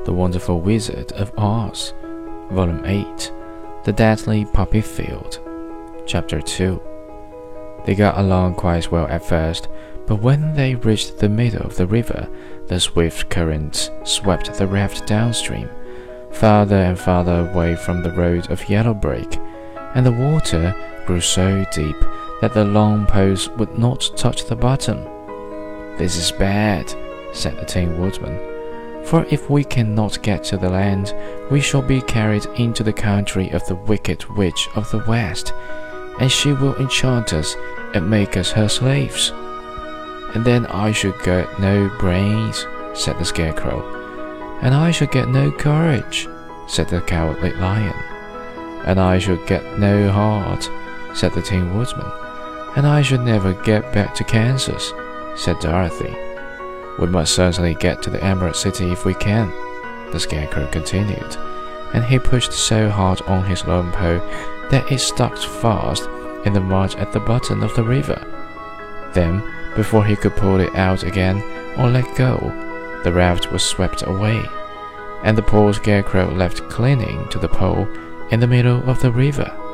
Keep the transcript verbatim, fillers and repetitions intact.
The Wonderful Wizard of Oz, Volume eight, The Deadly Poppy Field, Chapter two. They got along quite well at first, but when they reached the middle of the river, the swift currents swept the raft downstream, farther and farther away from the road of yellow brick, and the water grew so deep that the long poles would not touch the bottom. "This is bad," said the Tin Woodman, "for if we cannot get to the land, we shall be carried into the country of the Wicked Witch of the West, and she will enchant us and make us her slaves." "And then I should get no brains," said the Scarecrow. "And I should get no courage," said the Cowardly Lion. "And I should get no heart," said the Tin Woodman. "And I should never get back to Kansas," said Dorothy. "We must certainly get to the Emerald City if we can," the Scarecrow continued, and he pushed so hard on his long pole that it stuck fast in the mud at the bottom of the river. Then, before he could pull it out again or let go, the raft was swept away, and the poor Scarecrow left clinging to the pole in the middle of the river.